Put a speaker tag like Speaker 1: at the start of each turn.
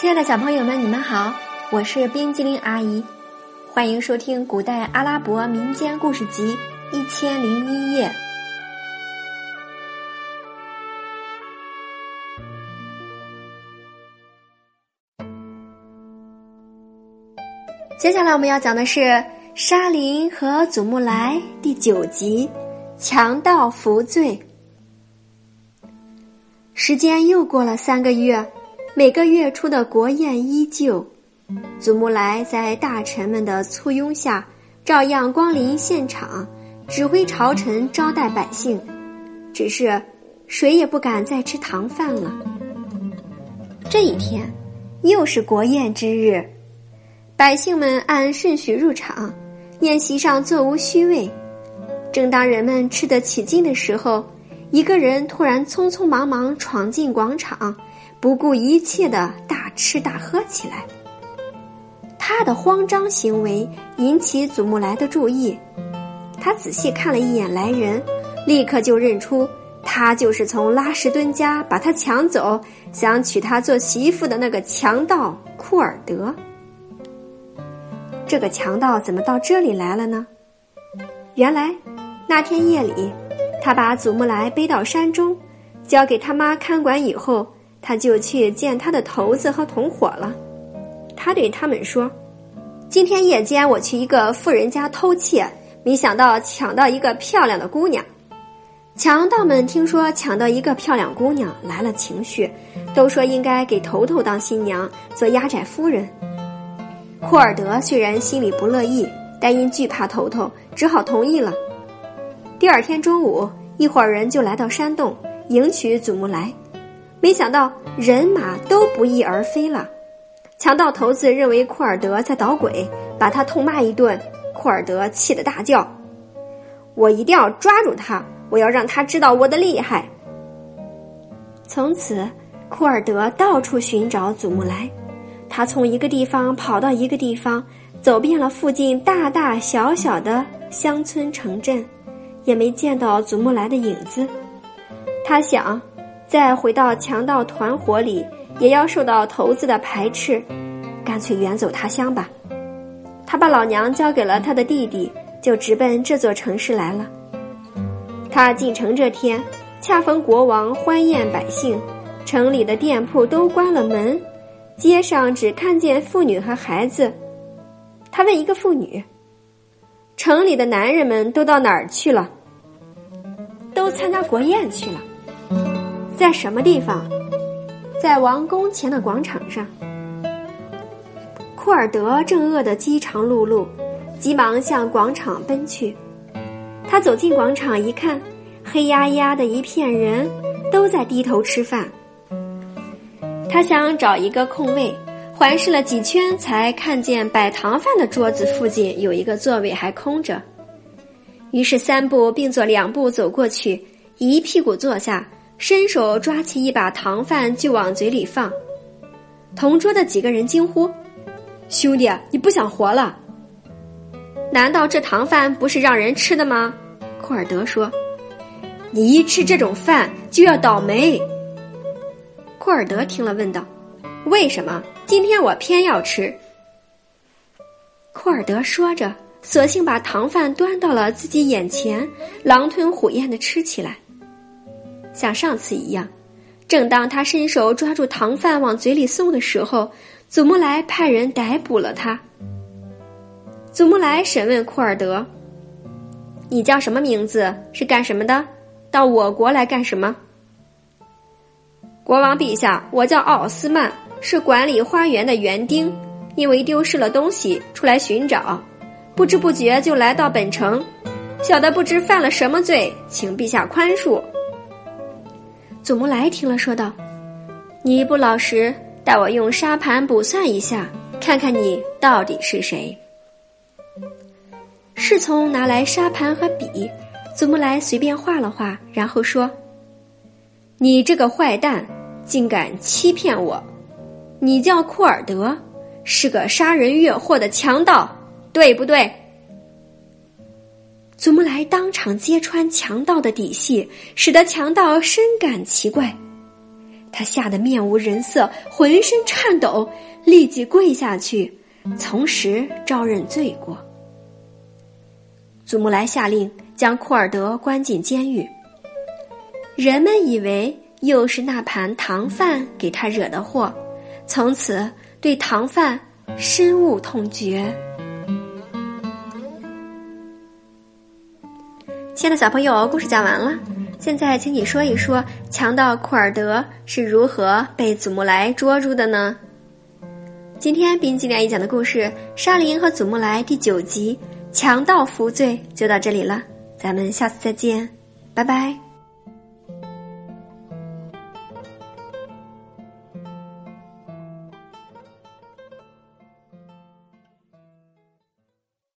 Speaker 1: 亲爱的小朋友们，你们好，我是冰激凌阿姨，欢迎收听古代阿拉伯民间故事集1001夜。接下来我们要讲的是沙林和祖木来第9集，强盗服罪。时间又过了3个月，每个月初的国宴依旧，祖木来在大臣们的簇拥下，照样光临现场，指挥朝臣招待百姓，只是谁也不敢再吃糖饭了。这一天又是国宴之日，百姓们按顺序入场，宴席上座无虚位。正当人们吃得起劲的时候，一个人突然匆匆忙忙闯进广场，不顾一切地大吃大喝起来。他的慌张行为引起祖木来的注意，他仔细看了一眼来人，立刻就认出他就是从拉什敦家把他抢走，想娶她做媳妇的那个强盗库尔德。这个强盗怎么到这里来了呢？原来那天夜里，他把祖木来背到山中，交给他妈看管以后，他就去见他的头子和同伙了。他对他们说，今天夜间我去一个富人家偷窃，没想到抢到一个漂亮的姑娘。强盗们听说抢到一个漂亮姑娘，来了情绪，都说应该给头头当新娘，做压寨夫人。库尔德虽然心里不乐意，但因惧怕头头，只好同意了。第二天中午，一伙人就来到山洞迎娶祖木来，没想到人马都不翼而飞了。强盗头子认为库尔德在捣鬼，把他痛骂一顿。库尔德气得大叫，我一定要抓住他，我要让他知道我的厉害。从此库尔德到处寻找祖木来，他从一个地方跑到一个地方，走遍了附近大大小小的乡村城镇，也没见到祖木来的影子。他想再回到强盗团伙里，也要受到头子的排斥，干脆远走他乡吧。他把老娘交给了他的弟弟，就直奔这座城市来了。他进城这天，恰逢国王欢宴百姓，城里的店铺都关了门，街上只看见妇女和孩子。他问一个妇女，城里的男人们都到哪儿去了？都参加国宴去了。在什么地方？在王宫前的广场上。库尔德正饿得饥肠辘辘，急忙向广场奔去。他走进广场一看，黑压压的一片人，都在低头吃饭。他想找一个空位，环视了几圈，才看见摆糖饭的桌子附近有一个座位还空着。于是3步并作2步走过去，一屁股坐下，伸手抓起一把糖饭就往嘴里放。同桌的几个人惊呼，兄弟，你不想活了？难道这糖饭不是让人吃的吗？库尔德说，你一吃这种饭就要倒霉。库尔德听了问道，为什么？今天我偏要吃。库尔德说着，索性把糖饭端到了自己眼前，狼吞虎咽地吃起来。像上次一样，正当他伸手抓住糖饭往嘴里送的时候，祖木来派人逮捕了他。祖木来审问库尔德，你叫什么名字？是干什么的？到我国来干什么？国王陛下，我叫奥斯曼，是管理花园的园丁，因为丢失了东西出来寻找，不知不觉就来到本城，小的不知犯了什么罪，请陛下宽恕。祖木来听了说道，你不老实，待我用沙盘卜算一下，看看你到底是谁。侍从拿来沙盘和笔，祖木来随便画了画，然后说，你这个坏蛋，竟敢欺骗我！你叫库尔德，是个杀人越货的强盗，对不对？祖木来当场揭穿强盗的底细，使得强盗深感奇怪。 他吓得面无人色，浑身颤抖，立即跪下去，从实招认罪过。祖木来下令将库尔德关进监狱。人们以为又是那盘糖饭给他惹的祸，从此对糖饭深恶痛绝。亲爱的小朋友，故事讲完了，现在请你说一说强盗库尔德是如何被祖木来捉住的呢？今天冰激凌一讲的故事《沙林和祖木来》第9集强盗服罪就到这里了，咱们下次再见，拜拜。